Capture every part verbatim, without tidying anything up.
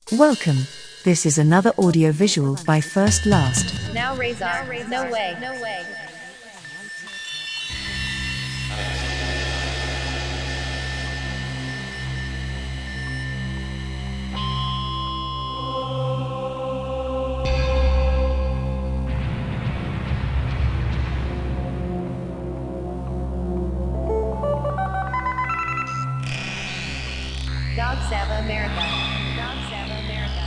Welcome. This is another audio visual by First Last. Now Razor, now Razor. No way, no way. Dog Sava America. Dog Sava America.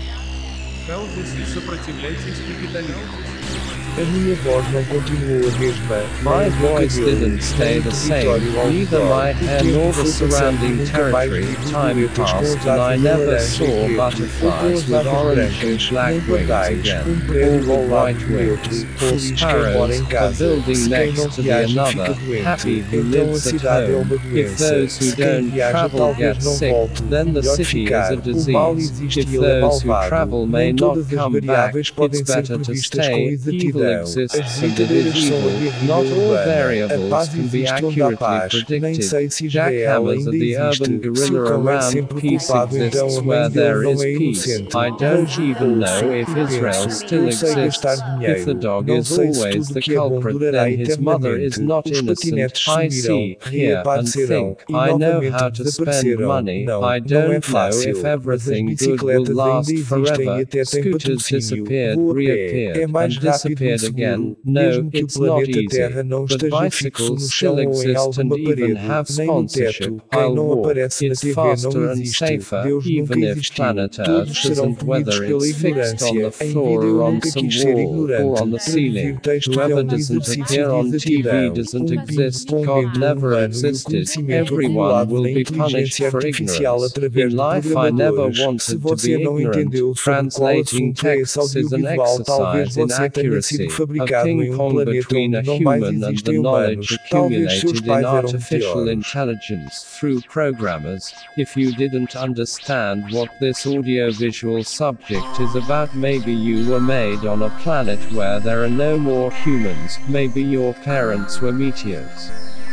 Calvos e сопротивляйтесь капитализму. A minha voz não continuou a mesma. My voice didn't stay the same, neither my hair nor the surrounding territory. Time passed and I never saw butterflies with orange and black wings again, or with white wings, or sparrows, a building next to the another, happy who lives at home. If those who don't travel get sick, then the city is a disease. If those who travel may not come back, it's better to stay. Evil exists and it is evil. Not all variables can be accurately predicted. Jackhammers are the urban gorilla around. Peace exists where there is peace. I don't even know if Israel still exists. If the dog is always the culprit, then his mother is not innocent. I see, hear, and think. I know how to spend money. I don't know if everything good will last forever. Scooters disappeared, reappeared, and disappeared again. No, it's not easy. But bicycles still exist and even have sponsorship. I'll walk. It's faster and safer, even if planet Earth isn't, whether it's fixed on the floor or on some wall or on the ceiling. Whoever doesn't appear on T V doesn't exist. God never existed. Everyone will be punished for ignorance. In life I never wanted to be ignorant. Translating texts is an exercise in accuracy, a ping-pong between a human and the knowledge accumulated in artificial intelligence through programmers. If you didn't understand what this audiovisual subject is about, maybe you were made on a planet where there are no more humans, maybe your parents were meteors.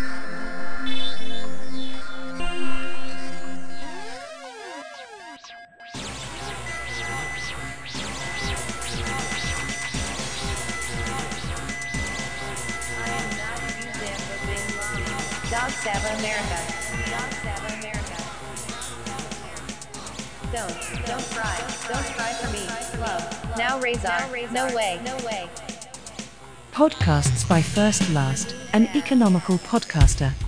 Dog Sava America. Dog Sava America. Don't, don't cry. Don't cry for me. Love. Now Razor. No way. No way. Podcasts by First Last, an economical podcaster.